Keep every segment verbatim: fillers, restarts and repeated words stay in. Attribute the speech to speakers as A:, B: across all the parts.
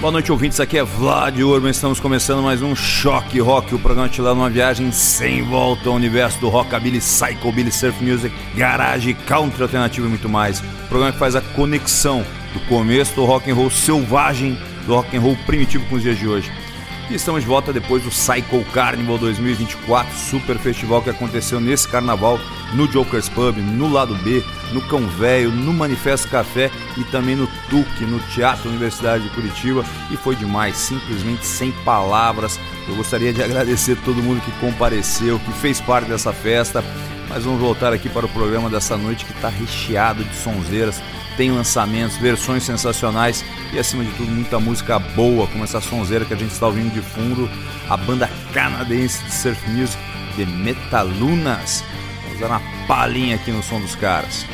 A: Boa noite, ouvintes, aqui é Vlad Urban, estamos começando mais um Choque Rock, o programa te leva numa viagem sem volta ao universo do rockabilly, psychobilly, surf music, garage, country alternativo e muito mais. O programa que faz a conexão do começo do rock and roll selvagem, do rock and roll primitivo com os dias de hoje. E estamos de volta depois do Psycho Carnival dois mil e vinte e quatro, super festival que aconteceu nesse carnaval, no Jokers Pub, no Lado B, no Cão Velho, no Manifesto Café e também no T U C, no Teatro Universidade de Curitiba, e foi demais, simplesmente sem palavras. Eu gostaria de agradecer a todo mundo que compareceu, que fez parte dessa festa, mas vamos voltar aqui para o programa dessa noite que está recheado de sonzeiras, tem lançamentos, versões sensacionais e acima de tudo muita música boa, como essa sonzeira que a gente está ouvindo de fundo, a banda canadense de surf music, The Metalunas. Vamos dar uma palhinha aqui no som dos caras.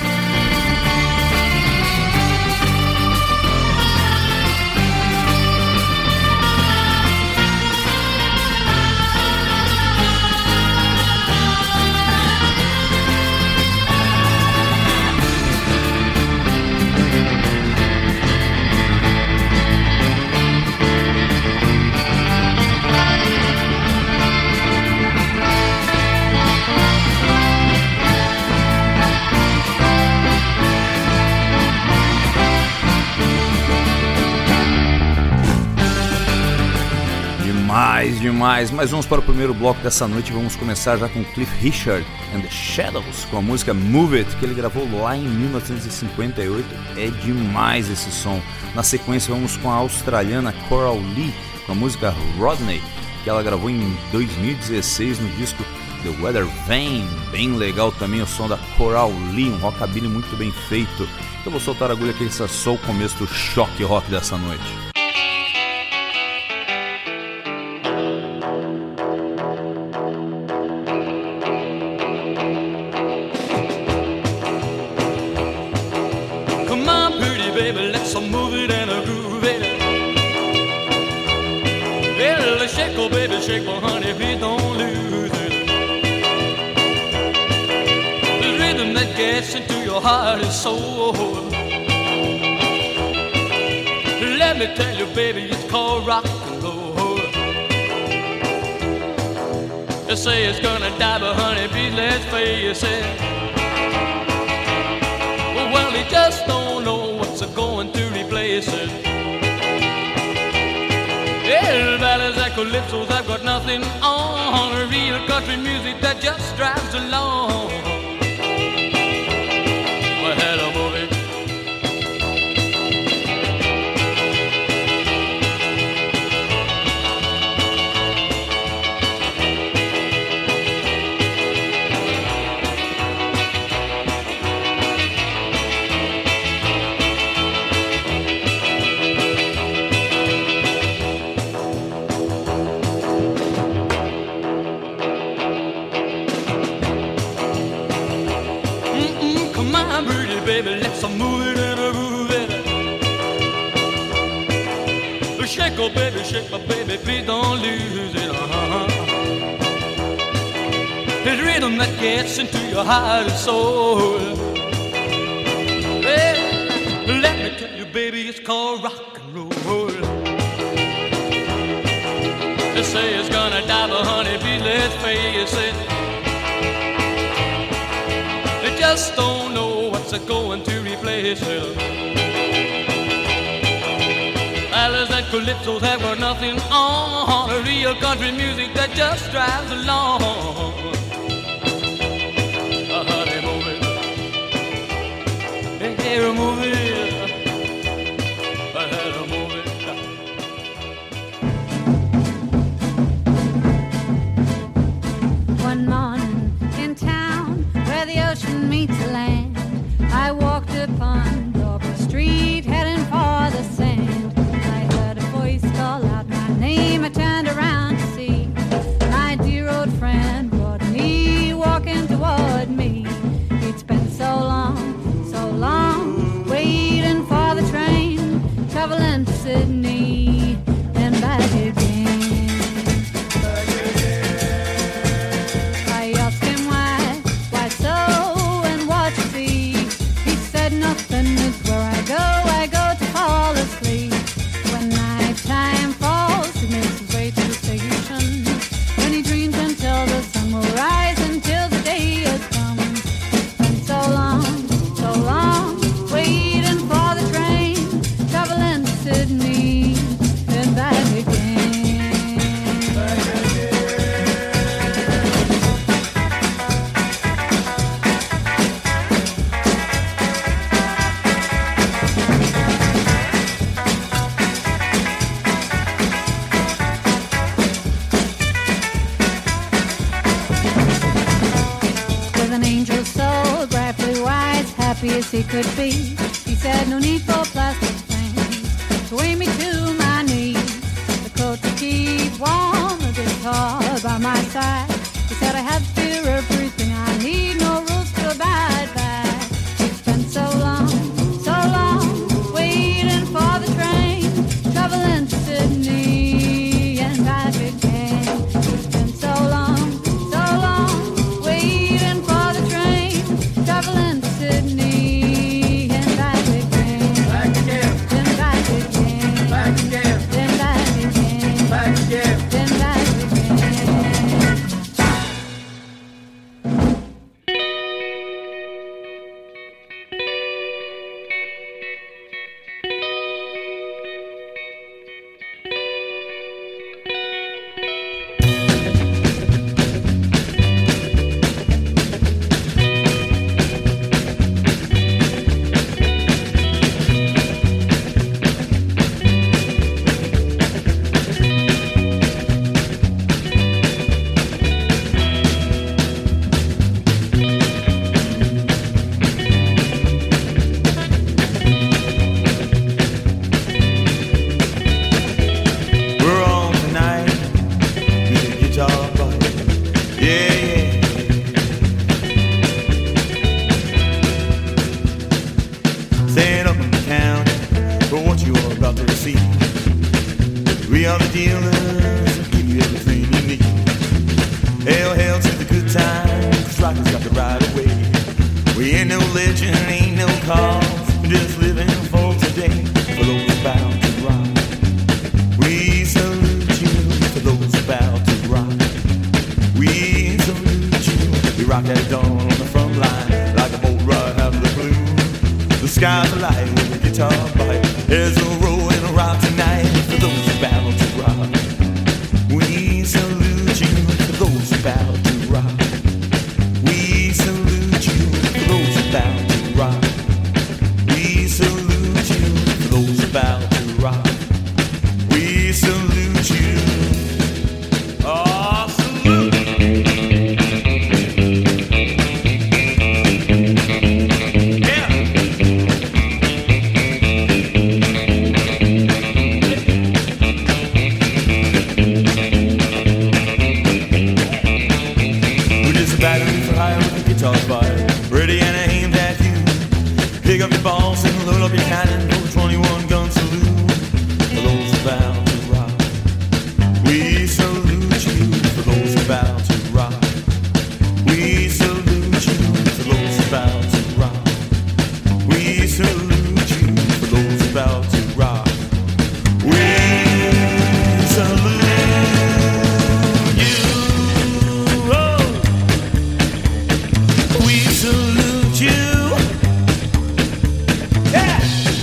A: Demais, demais, mas vamos para o primeiro bloco dessa noite. Vamos começar já com Cliff Richard and the Shadows, com a música Move It, que ele gravou lá em mil novecentos e cinquenta e oito. É demais esse som. Na sequência vamos com a australiana Coral Lee, com a música Rodney, que ela gravou em dois mil e dezesseis no disco The Weather Vane. Bem legal também o som da Coral Lee, um rockabilly muito bem feito. Eu vou soltar a agulha que esse é só o começo do choque rock dessa noite.
B: Shake, well, honey, please don't lose it. The rhythm that gets into your heart and soul. Let me tell you, baby, it's called rock and roll. They say it's gonna die, but honey, please let's face it. Well, they just don't know what's going to replace it. Yeah, ballads and calypsos have got nothing on. Real country music that just drives along. Well, hello, movie. Baby, let's move it and groove it. Shake, oh baby, shake, my baby, please don't lose it. Uh-huh. It's rhythm that gets into your heart and soul. Well, let me tell you, baby, it's called rock and roll. They say it's gonna die, but honey, please let's face it. They just don't know what's going to replace it. Ballads and calypsos have got nothing on. A real country music that just drives along. Uh, honey, move it. Hey, hey, move it. Uh, hey, move it.
C: One morning in town where the ocean meets the land, I walked upon Dover Street heading for the sand. I heard a voice call out my name. I turned around to see my dear old friend Rodney walking toward me. It's been so long, so long with an angel's soul, bright blue eyes, happy as he could be. He said, no need for plastic things to weigh me to my knees. The coat to keep warm, the guitar by my side. He said, I have fear everything I need, no rules to abide by. It's been so long, so long, waiting for the train, traveling to Sydney and back again. It's been so long, so long, waiting for the train, traveling to Sydney and back again.
B: Back again,
C: Then back again.
B: back again,
C: Then back again.
B: back again.
C: Then back again.
A: We're on tonight with the guitar bug. Yeah, yeah. Stand up in the county for what you are about to receive. We are the dealers that give you everything you need. Hail, hail to the good times, 'cause rockers got the right of way. We ain't no legend, ain't no cause, we're just living for today, for those about to rock. We salute you for those about to rock. We salute you. We rock at dawn on the front line like a boat right out of the blue. The sky's alight with a guitar bite. There's a roll and a rock tonight for those about to rock. We salute you for those about to rock. We salute you for those about to rock. We salute you for those about to rock. We salute you. Oh, salute. Yeah. We're just a battery for hire with a guitar fire, ready and aimed at you. Pick up your balls and load up your cannon for a twenty-one gun salute. For those about to rock, we salute you. For those about to rock, we salute you. For those about to rock, we salute you. For those about to rock, we salute you. Oh, we salute you. Yeah.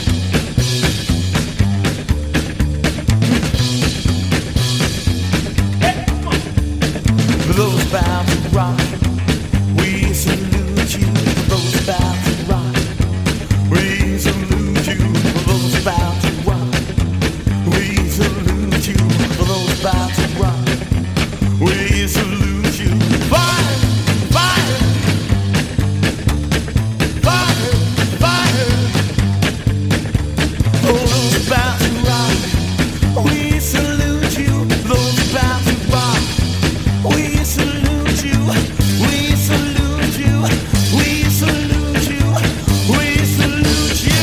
A: For those about to rock, we salute you. For those about to rock, we salute you. For those about to rock, we salute you. For those about to rock, we salute you. Fire, fire, fire, fire. For those about to rock, we salute you. For those about to rock, we salute you. We salute you. We salute you. We salute you.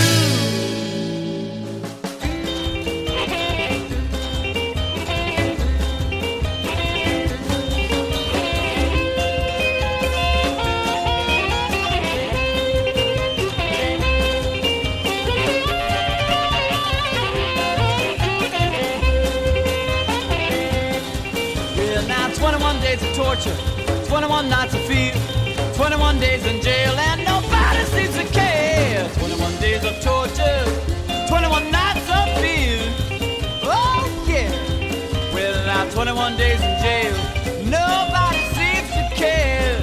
B: Well, now twenty-one days of torture, twenty-one nights of fear, twenty-one days in jail, and nobody seems to care. twenty-one days of torture, twenty-one nights of fear. Oh, yeah. Well, now twenty-one days in jail, nobody seems to care.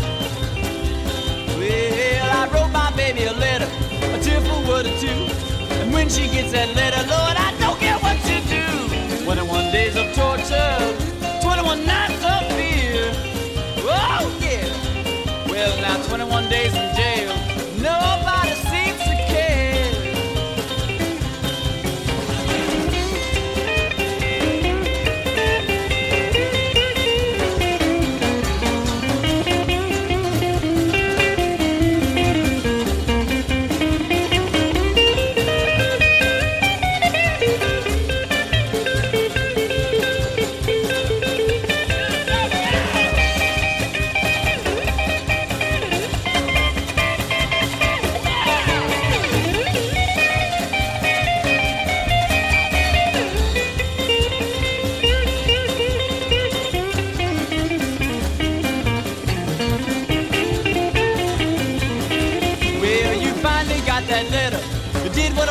B: Well, I wrote my baby a letter, a tearful word or two, and when she gets that letter, Lord, I don't get what to do. twenty-one days of torture, twenty-one nights of fear. Oh, yeah. Well, now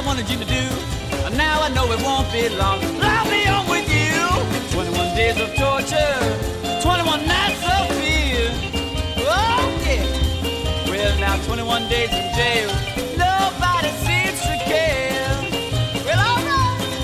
B: wanted you to do. And now I know it won't be long. I'll be on with you. twenty-one days of torture, twenty-one nights of fear. Oh yeah. Well now twenty-one days in jail. Nobody seems to care. Well all right.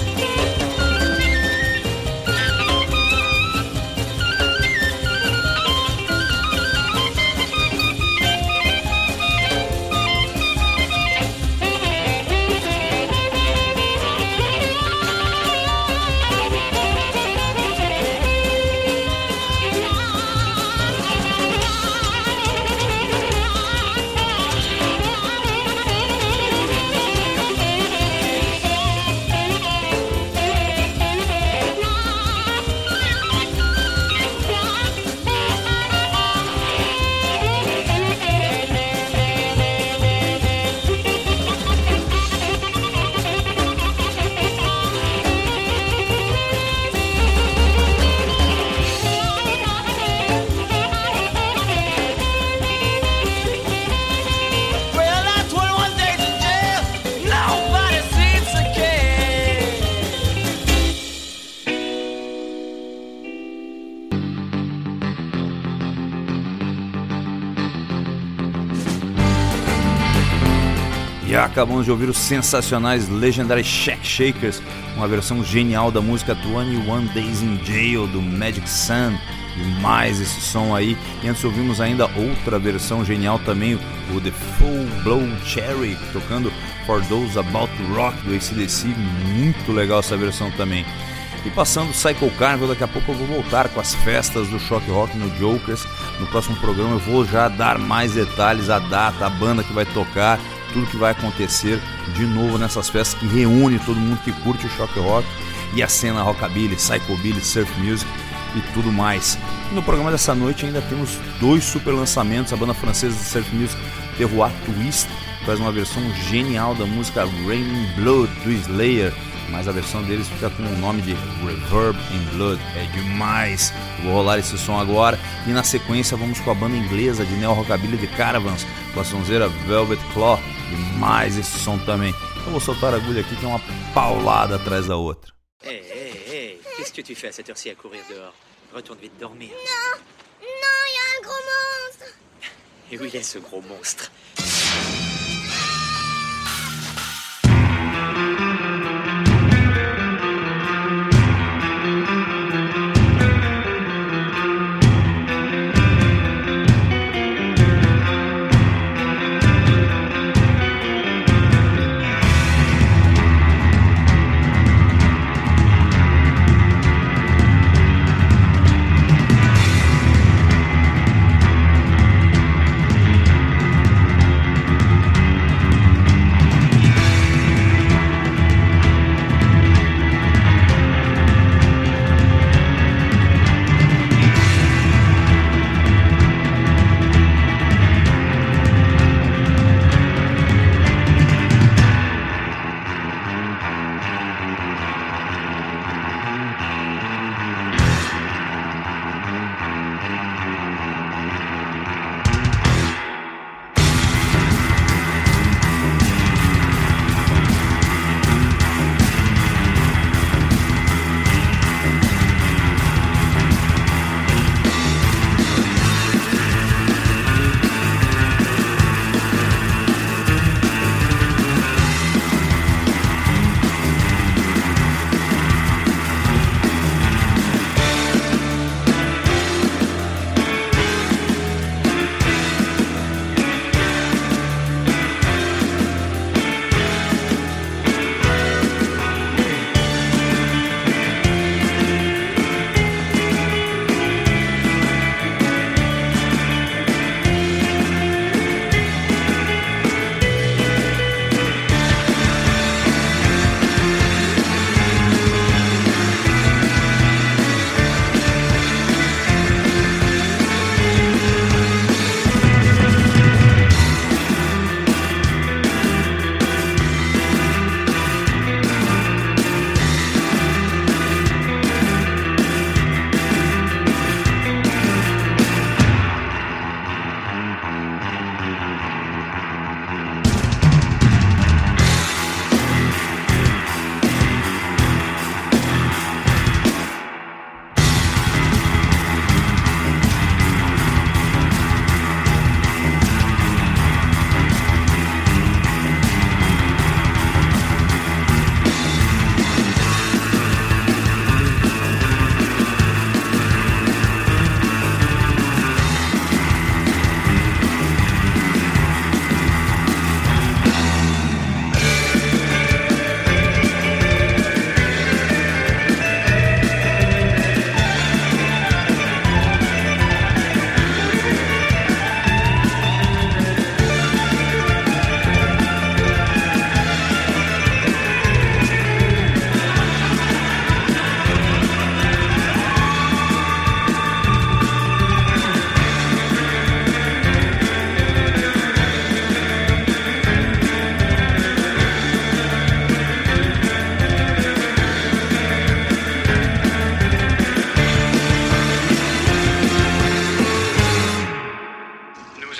A: E acabamos de ouvir os sensacionais Legendary Shack Shakers, uma versão genial da música twenty one Days in Jail do Magic Sun. E mais esse som aí. E antes ouvimos ainda outra versão genial também, o The Full Blown Cherry, tocando For Those About to Rock do A C D C. Muito legal essa versão também. E passando Psycho Carnival, daqui a pouco eu vou voltar com as festas do Shock Rock no Jokers. No próximo programa eu vou já dar mais detalhes, a data, a banda que vai tocar, tudo que vai acontecer de novo nessas festas que reúne todo mundo que curte o Shock Rock e a cena rockabilly, psychobilly, surf music e tudo mais. E no programa dessa noite ainda temos dois super lançamentos. A banda francesa de surf music Terroir Twist faz uma versão genial da música Raining Blood do Slayer, mas a versão deles fica com o nome de Reverb in Blood. É demais. Vou rolar esse som agora e na sequência vamos com a banda inglesa de neo rockabilly The Caravans com a sonzeira Velvet Claw. E mais esse som também. Eu vou soltar a agulha aqui que é uma paulada atrás da outra.
D: Hé, hé, hé, qu'est-ce que tu fais à cette heure-ci à courir dehors? Retourne vite dormir.
E: Non, non, il y a un gros monstre.
D: Et où il est ce gros monstre?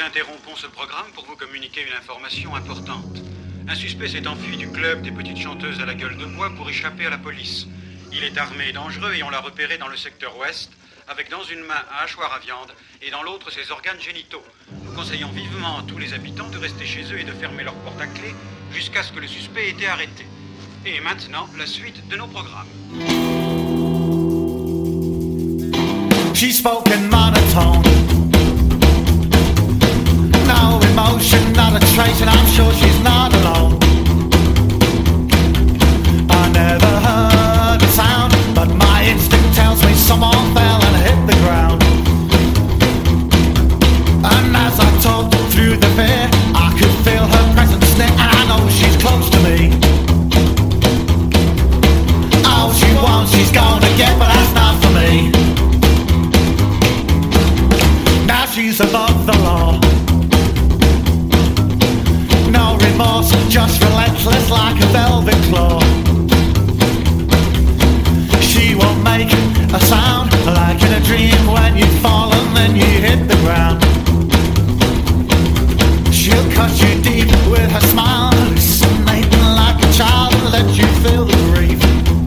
F: interrompons ce programme pour vous communiquer une information importante. Un suspect s'est enfui du club des petites chanteuses à la gueule de bois pour échapper à la police. Il est armé et dangereux et on l'a repéré dans le secteur ouest, avec dans une main un hachoir à viande et dans l'autre ses organes génitaux. Nous conseillons vivement à tous les habitants de rester chez eux et de fermer leurs portes à clé jusqu'à ce que le suspect ait été arrêté. Et maintenant, la suite de nos programmes.
G: She spoke in monotone. No emotion, not a trace, and I'm sure she's not alone. I never heard a sound, but my instinct tells me someone fell and hit the ground. And as I talked through the fear, I could feel her presence near, and I know she's close to me. All she wants, she's gonna get, but that's not for me. Now she's above the law. No remorse, just relentless like a velvet claw. She won't make a sound like in a dream when you fall and then you hit the ground. She'll cut you deep with her smile, hallucinating like a child and let you feel the grief.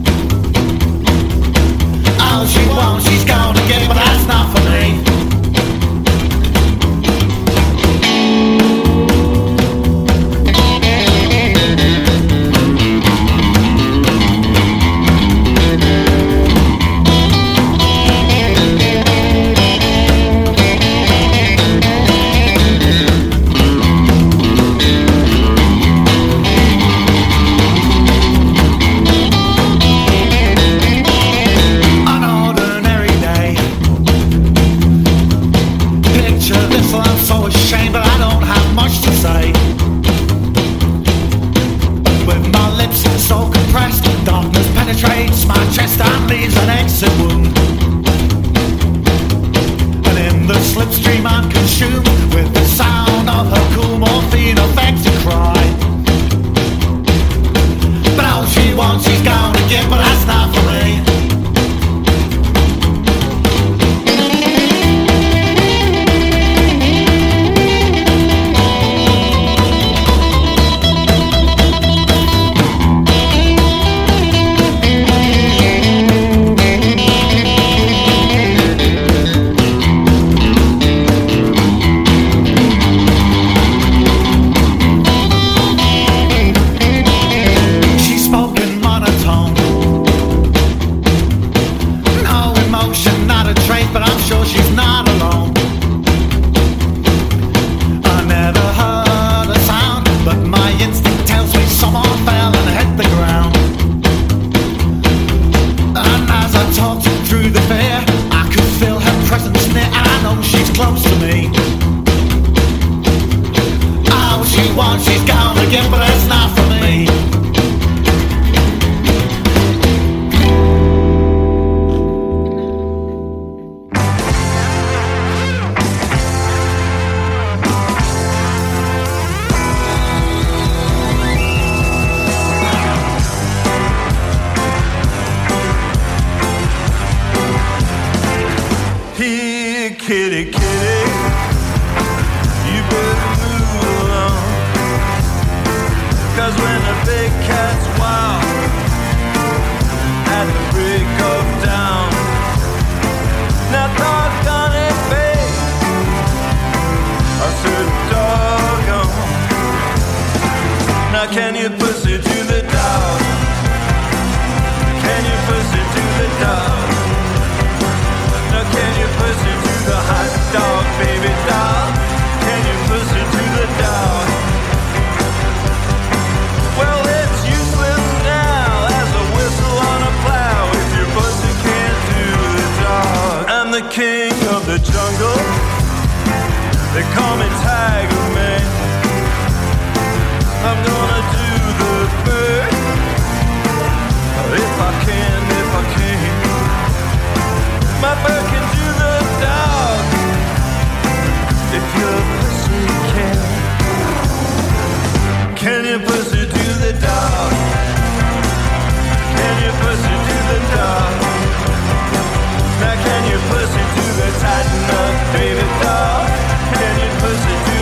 G: All she wants, she's gonna get, but that's not for me. Penetrates my chest and leaves an exit wound. And in the slipstream I'm consumed with the sound of her cool morphine affected cry. But all she wants she's gonna get, but that's not for me.
H: Now can you push it to the tighten up, baby doll? Can you push it to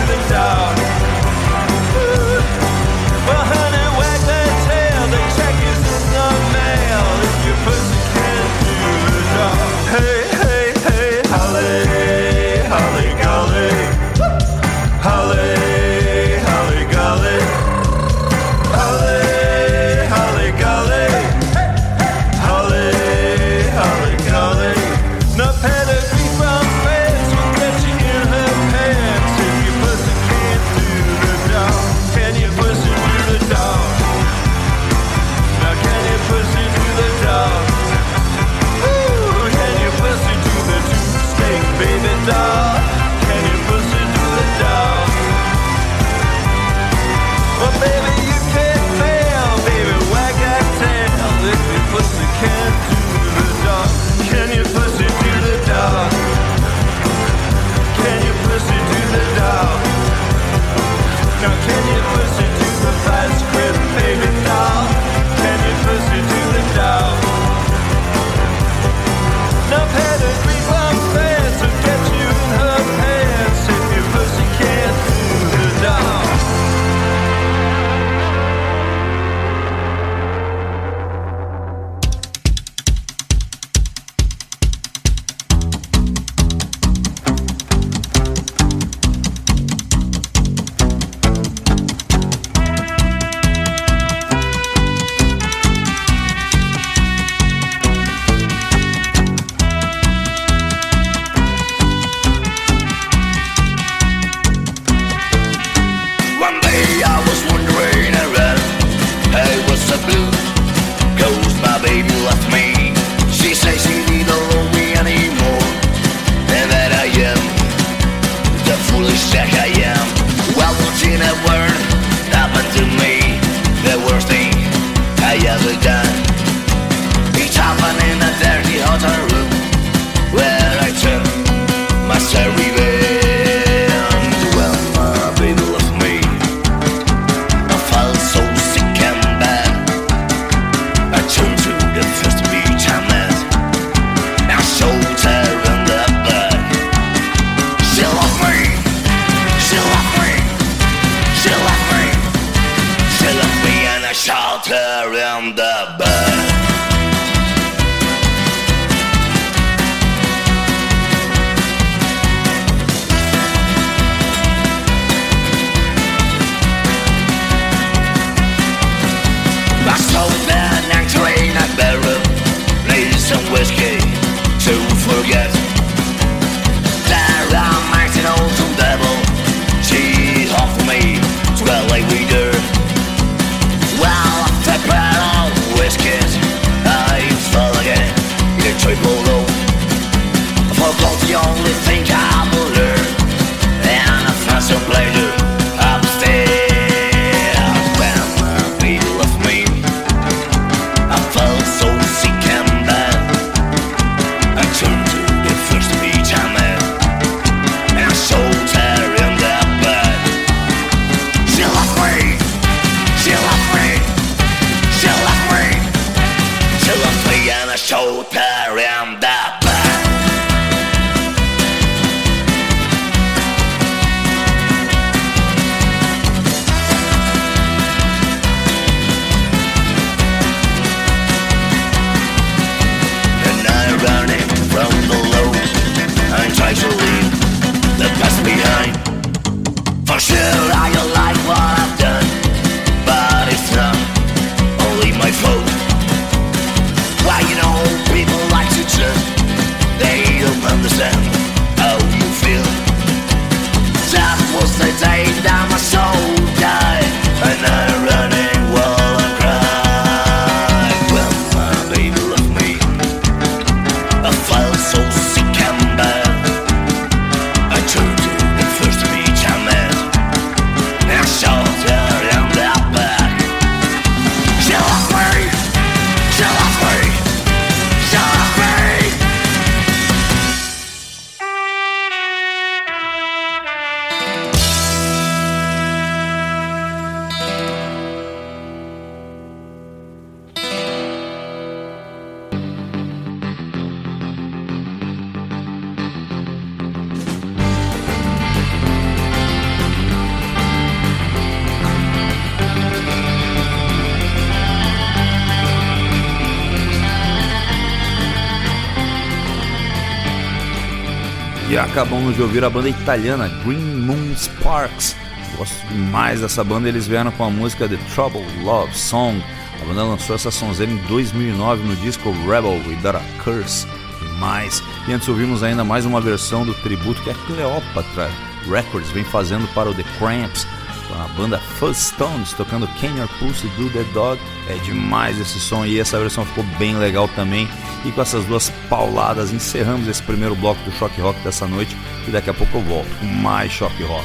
A: acabamos de ouvir a banda italiana Green Moon Sparks. Gosto demais dessa banda, eles vieram com a música The Trouble Love Song. A banda lançou essa sonzeira em dois mil e nove no disco Rebel Without a Curse. Demais. E antes ouvimos ainda mais uma versão do tributo que a Cleopatra Records vem fazendo para o The Cramps, com a banda Fuzztones tocando Can Your Pussy Do The Dog. É demais esse som e essa versão ficou bem legal também. E com essas duas pauladas encerramos esse primeiro bloco do Choque Rock dessa noite e daqui a pouco eu volto com mais Choque Rock.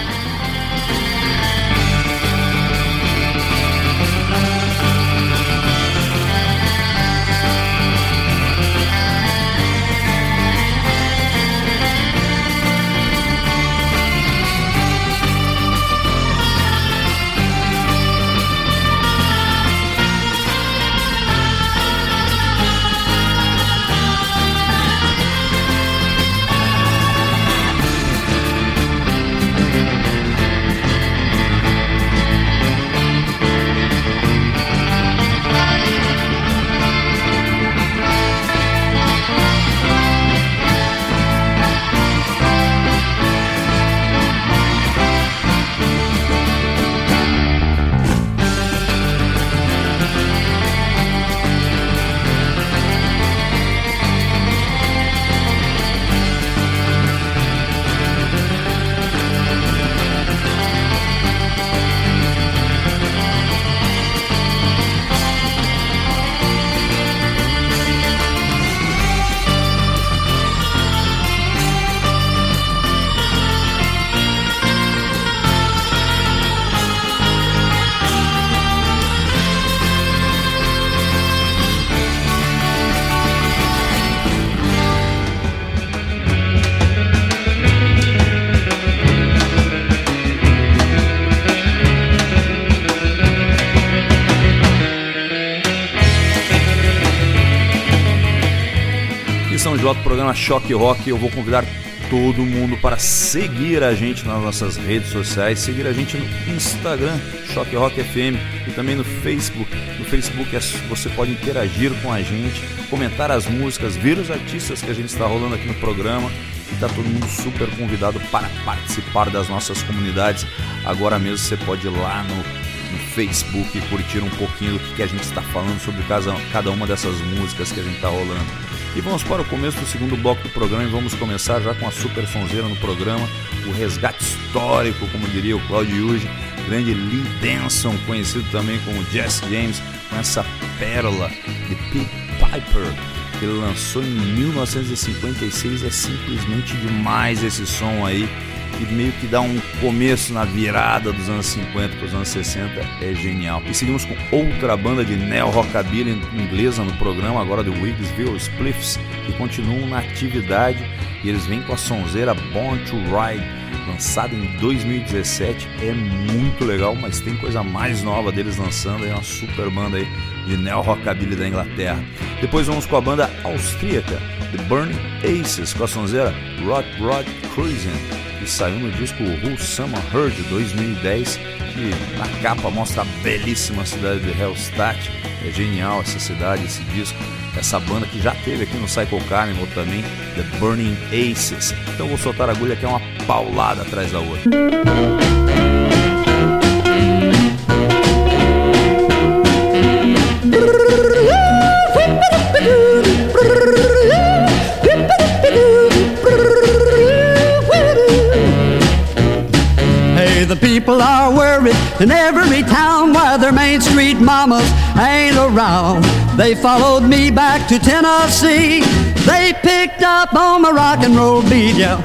A: Do programa Choque Rock, eu vou convidar todo mundo para seguir a gente nas nossas redes sociais, seguir a gente no Instagram, Choque Rock F M, e também no Facebook. No Facebook você pode interagir com a gente, comentar as músicas, ver os artistas que a gente está rolando aqui no programa, e está todo mundo super convidado para participar das nossas comunidades. Agora mesmo você pode ir lá no, no Facebook e curtir um pouquinho do que, que a gente está falando sobre cada, cada uma dessas músicas que a gente está rolando. E vamos para o começo do segundo bloco do programa e vamos começar já com a super sonzeira no programa, o resgate histórico, como diria o Claudio Yuji, grande Lee Denson, conhecido também como Jesse James, com essa pérola de Pete Piper, que ele lançou em mil novecentos e cinquenta e seis. É simplesmente demais esse som aí, e meio que dá um começo na virada dos anos cinquenta para os anos sessenta, é genial. E seguimos com outra banda de neo-rockabilly inglesa no programa, agora do Wigsville Spliffs, que continuam na atividade, e eles vêm com a sonzeira Born to Ride, lançada em dois mil e dezessete, é muito legal, mas tem coisa mais nova deles lançando, é uma super banda aí de neo-rockabilly da Inglaterra. Depois vamos com a banda austríaca The Burning Aces, com a sonzeira Rod Rod Cruising, que saiu no disco Who Summer Her de dois mil e dez, que na capa mostra a belíssima cidade de Hallstatt. É genial essa cidade, esse disco, essa banda que já teve aqui no Psycho Carnival também, The Burning Aces. Então vou soltar a agulha que é uma paulada atrás da outra.
H: The people are worried in every town why their Main Street mamas ain't around. They followed me back to Tennessee. They picked up on my rock and roll beat, yeah.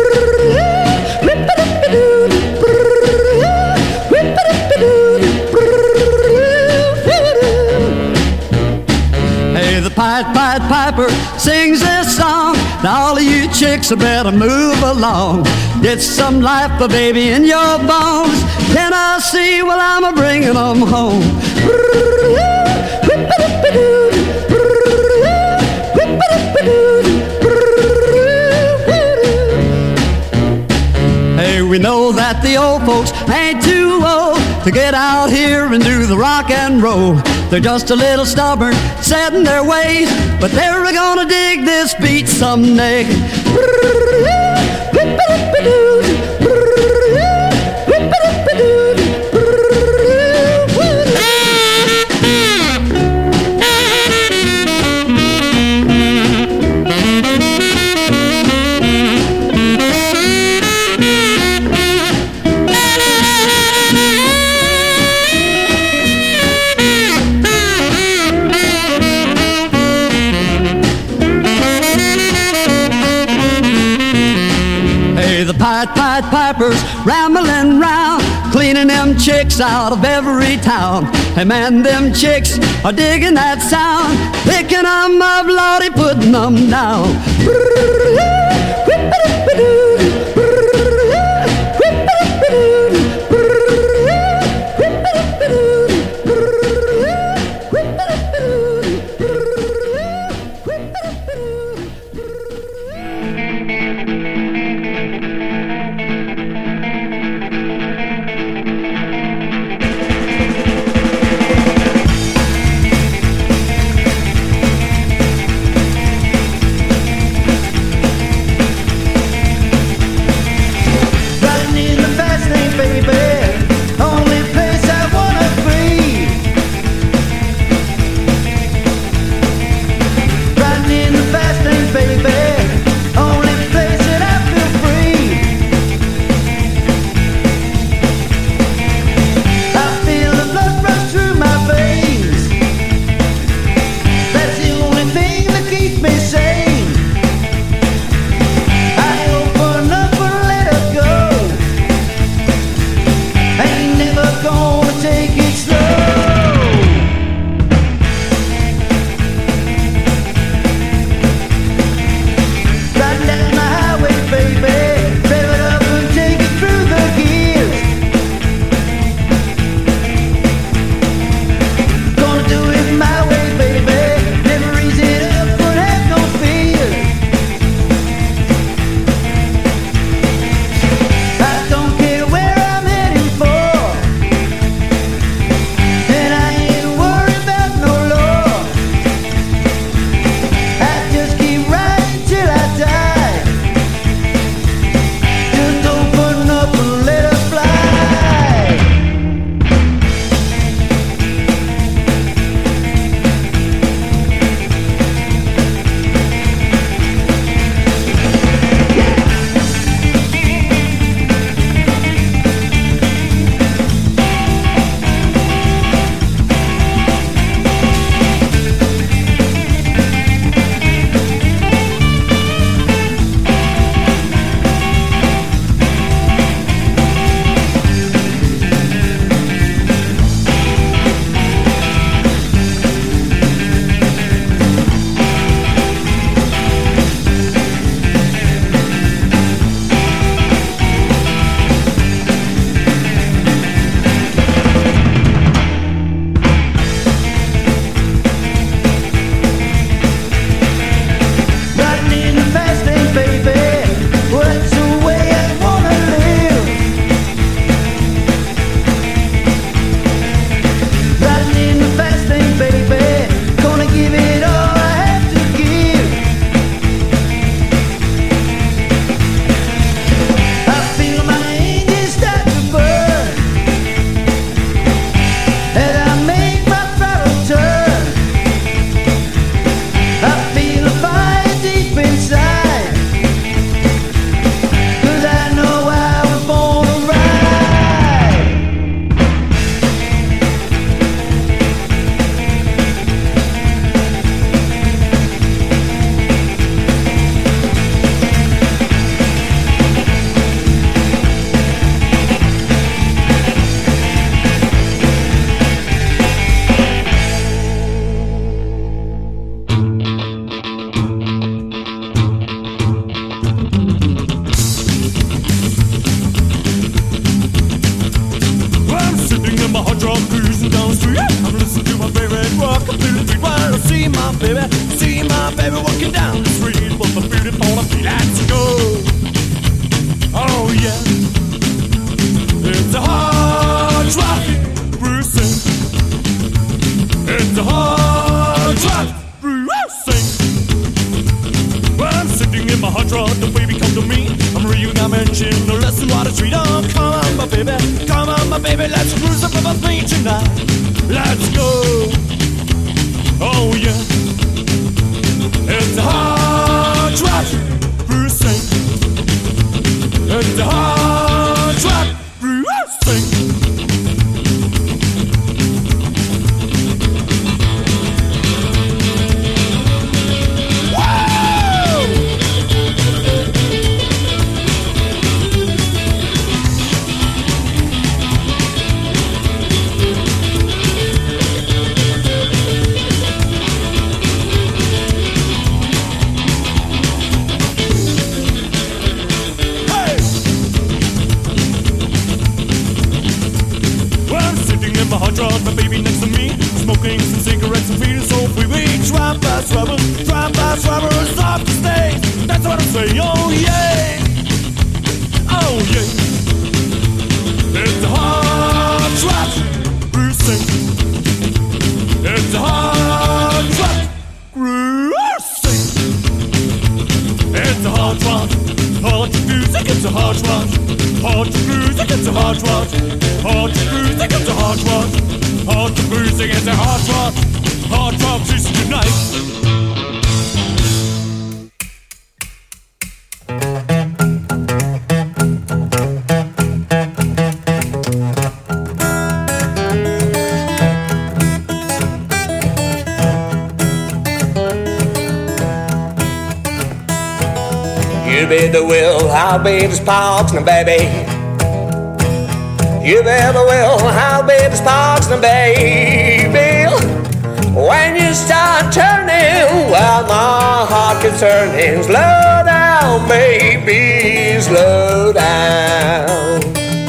H: Hey, the Pied Pied Piper sings this song. Now all of you chicks better move along. Get some life, a baby, in your bones. Tennessee, well, I'm a bringing them home. Hey, we know that the old folks ain't too old to get out here and do the rock and roll. They're just a little stubborn, set in their ways, but they're gonna dig this beat someday. Rambling round, cleaning them chicks out of every town. Hey man, them chicks are digging that sound, picking them up, Lordy, putting them down.
G: the street. Oh, come on, my baby, come on, my baby, let's cruise up above me tonight. Let's go. Oh yeah, it's a hard track, Bruce Sing. It's a hard track, Bruce Sing. My baby next to me, smoking some cigarettes and feeling so free. We drive past rubbers, drive past rubbers off the stage. That's what I'm saying. Oh yeah, oh yeah. It's a hard track, Bruce Sing. It's a hard track, Bruce Sing. It's a hard rock, hard to music. It's a hard rock, hard to music. It's a hard rock, hard to music. It's a hard rock. Hard to music, it's a hard rock, hard rock just tonight.
I: You be the will, I'll be the sparks, now baby. You be the will, I'll be the sparks, now baby. When you start turning, well, my heart gets turning. Slow down, baby, slow down.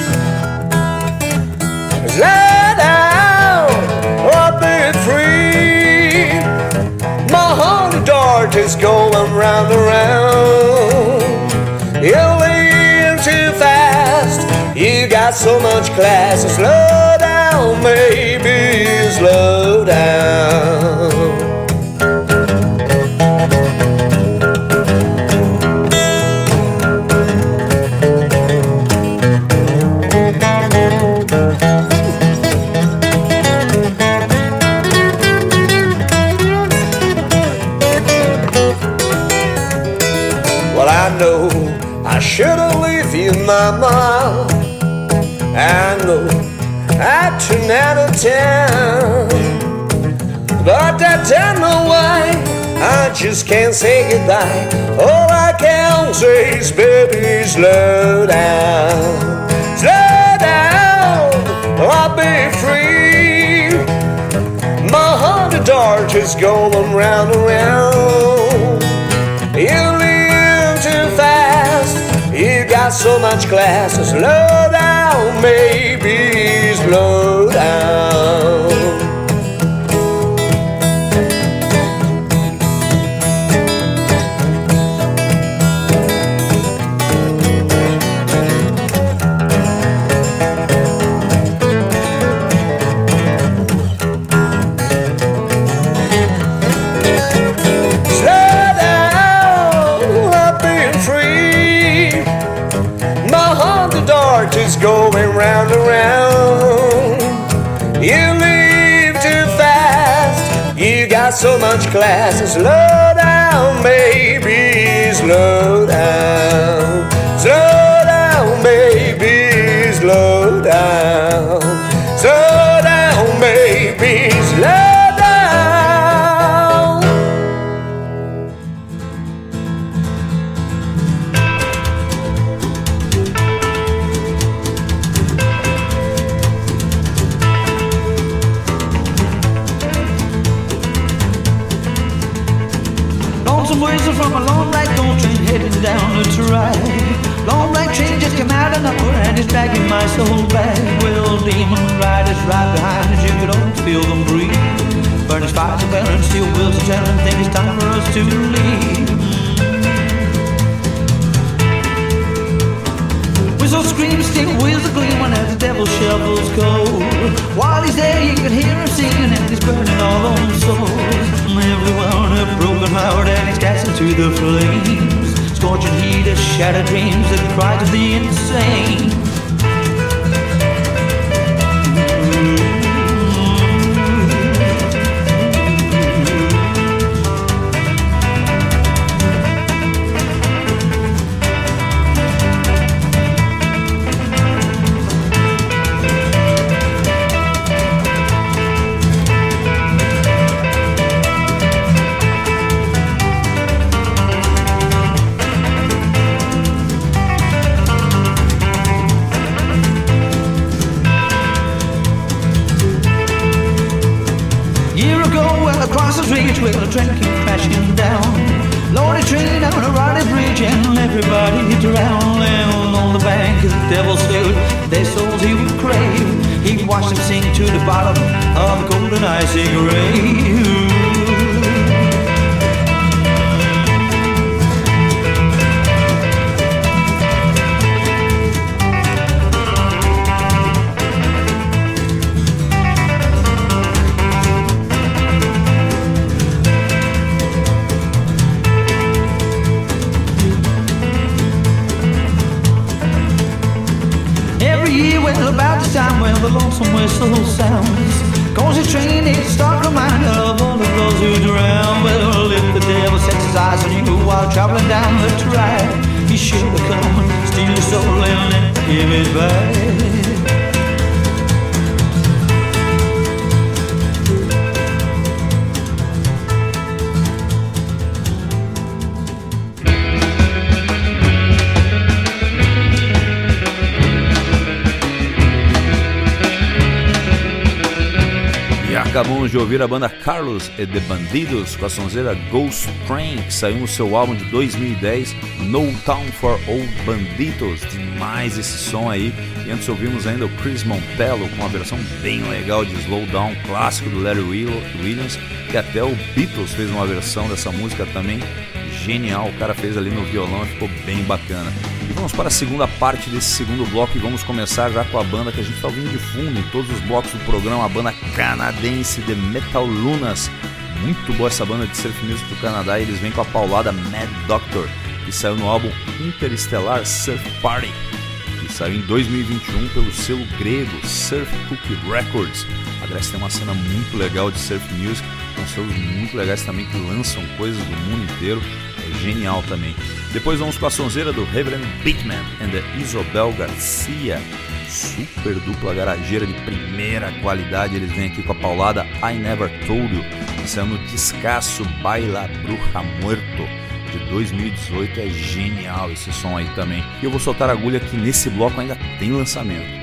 I: Slow down, I'll be free. My heart dart is going round and round. You leave too fast. You got so much class. So slow down, baby, slow down. Well, I know I should've left you, mama. I know I turn out of town, but I don't know why I just can't say goodbye. All I can say is, baby, slow down. Slow down, I'll be free. My heart of dart is going round and round. You live too fast. You got so much class. So slow down, baby, slow down. Is going round and round. You leave too fast. You got so much class. Slow down, baby, slow down. Slow down, baby, slow down. Slow down, baby, slow down.
B: From a long black gold train heading down the track. Long black train just came out of nowhere and it's dragging my soul back. Well, demon riders right behind us, you could almost feel them breathe. Burning fires and burning steel wheels and telling think it's time for us to leave. Whistles scream, steel wheels are gleaming as the devil shovels coal. While he's there you can hear him singing and he's burning all on souls. Everyone a broken heart and he's casting to the flames.
J: scorching heat of shattered dreams, the cries of the insane. Reach where the train came crashing down. Loaded train on a rotted bridge and everybody drowned. And on the bank the devil stood, their souls he would crave. He'd watch them sink to the bottom of the golden icy grave. About the time when the lonesome whistle sounds, goes the train, it's a stark reminder of all of those who drown. Well, if the devil sets his eyes on you while traveling down the track, he should have come and steal your soul and then give it back.
A: Acabamos de ouvir a banda Carlos e The Bandidos com a sonzeira Ghost Train, que saiu no seu álbum de dois mil e dez, No Town for Old Banditos. Demais esse som aí. E antes ouvimos ainda o Chris Montello com uma versão bem legal de Slow Down, clássico do Larry Williams, que até o Beatles fez uma versão dessa música também genial. O cara fez ali no violão e ficou bem bacana. E vamos para a segunda parte desse segundo bloco e vamos começar já com a banda que a gente está ouvindo de fundo em todos os blocos do programa, a banda canadense The Metalunas. Muito boa essa banda de surf music do Canadá, e eles vêm com a paulada Mad Doctor, que saiu no álbum Interstellar Surf Party, que saiu em dois mil e vinte e um pelo selo grego Surf Cookie Records. A Grécia tem uma cena muito legal de surf music, com selos muito legais também que lançam coisas do mundo inteiro. É genial também. Depois vamos com a sonzeira do Reverend Beatman and the Isobel Garcia, super dupla garageira de primeira qualidade. Eles vêm aqui com a paulada I Never Told You, que saiu no descasso Baila Bruja Muerto de dois mil e dezoito. É genial esse som aí também. E eu vou soltar a agulha que nesse bloco ainda tem lançamento.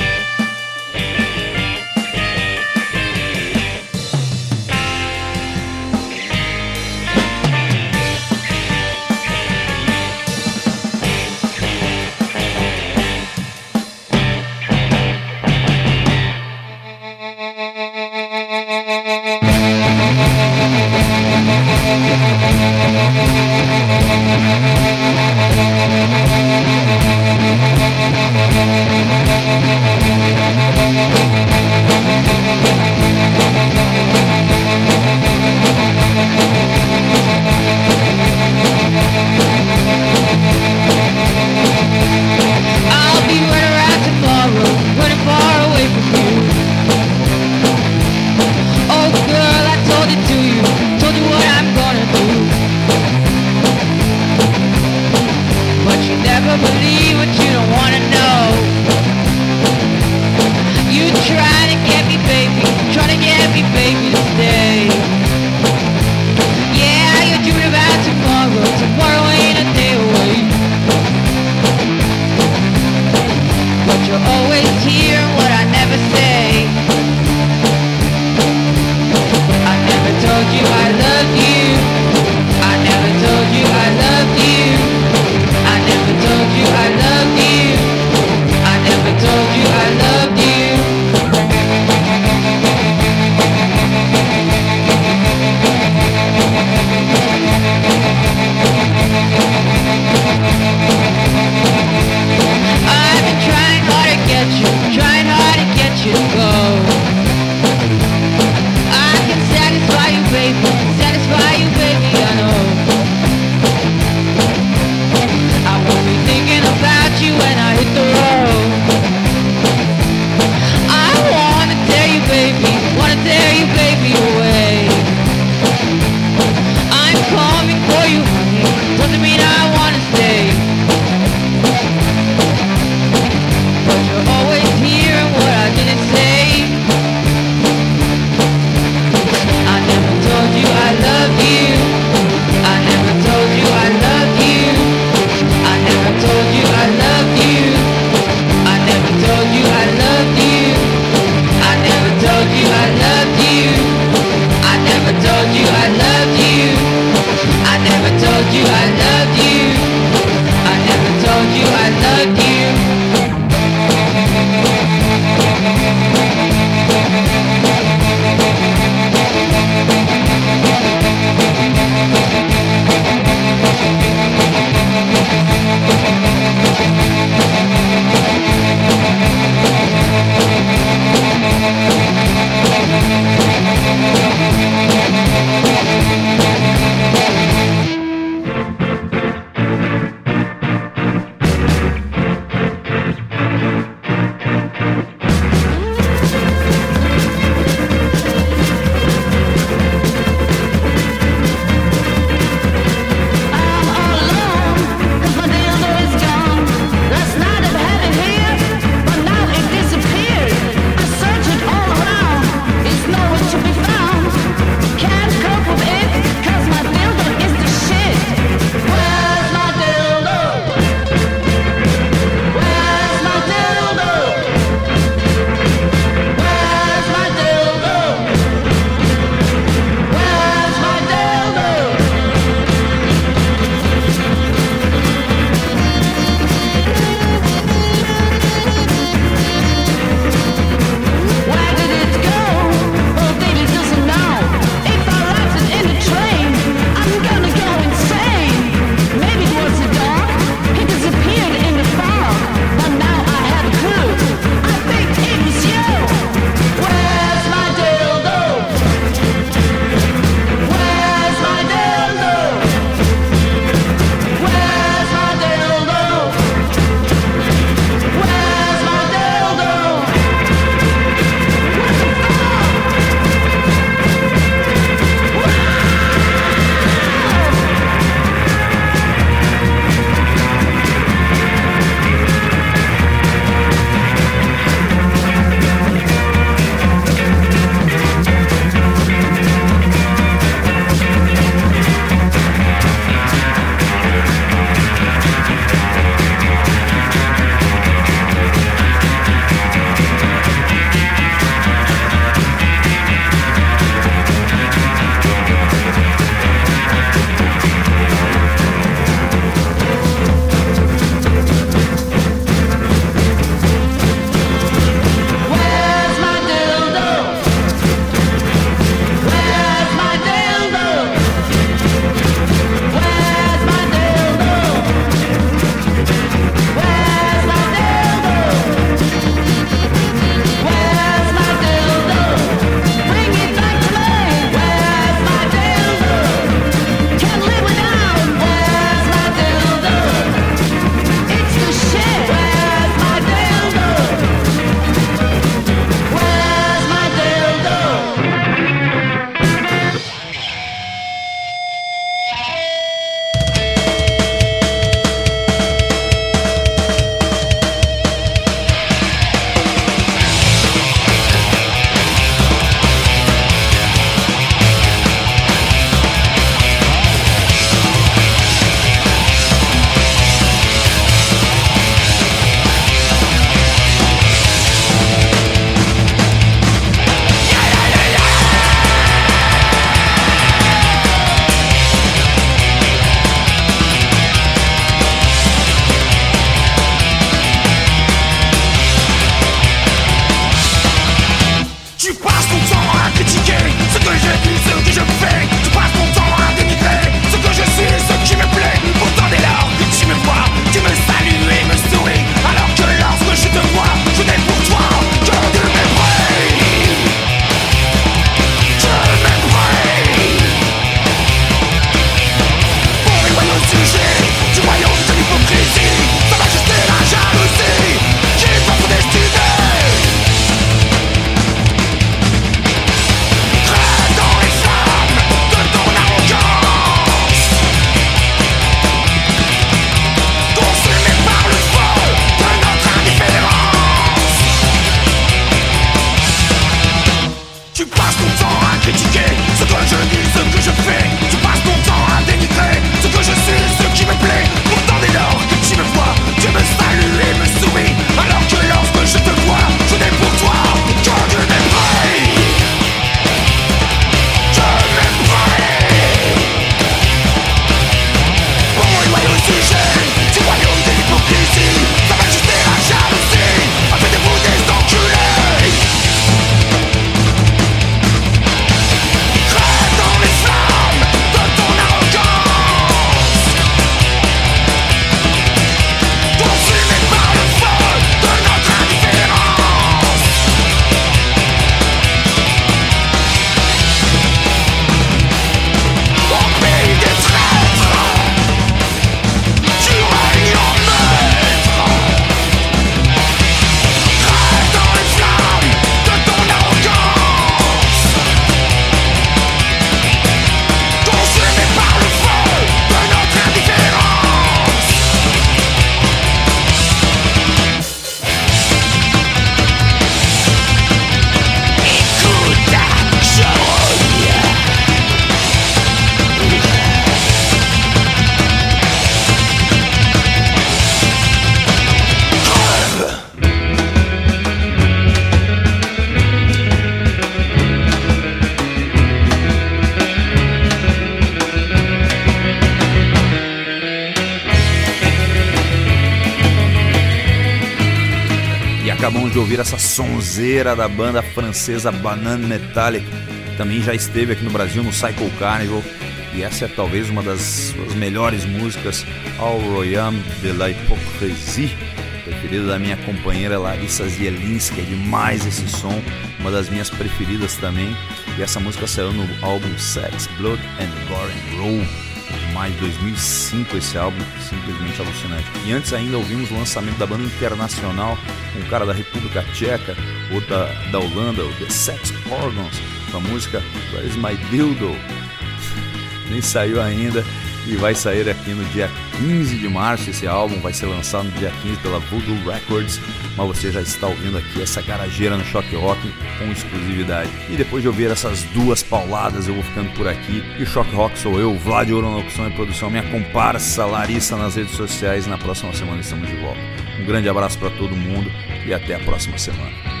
A: acabamos de ouvir essa sonzeira da banda francesa Banane Metallic, que também já esteve aqui no Brasil no Psycho Carnival, e essa é talvez uma das suas melhores músicas, Au Royaume de la Hypocrisie, preferida da minha companheira Larissa Zielinski. É demais esse som, uma das minhas preferidas também, e essa música saiu no álbum Sex, Blood and Gore and Roll, mais de dois mil e cinco, esse álbum simplesmente alucinante. E antes ainda ouvimos o lançamento da banda internacional, um cara da República Tcheca, outra da Holanda, o The Sex Organs, com a música Where is My Dildo? Nem saiu ainda e vai sair aqui no dia quinze de março. Esse álbum vai ser lançado no dia quinze pela Voodoo Records, mas você já está ouvindo aqui essa garageira no Choque Rock com exclusividade. E depois de ouvir essas duas pauladas, eu vou ficando por aqui. E o Choque Rock sou eu, Vlad Ouro na locução e produção, minha comparsa Larissa nas redes sociais. Na próxima semana estamos de volta. Um grande abraço para todo mundo e até a próxima semana.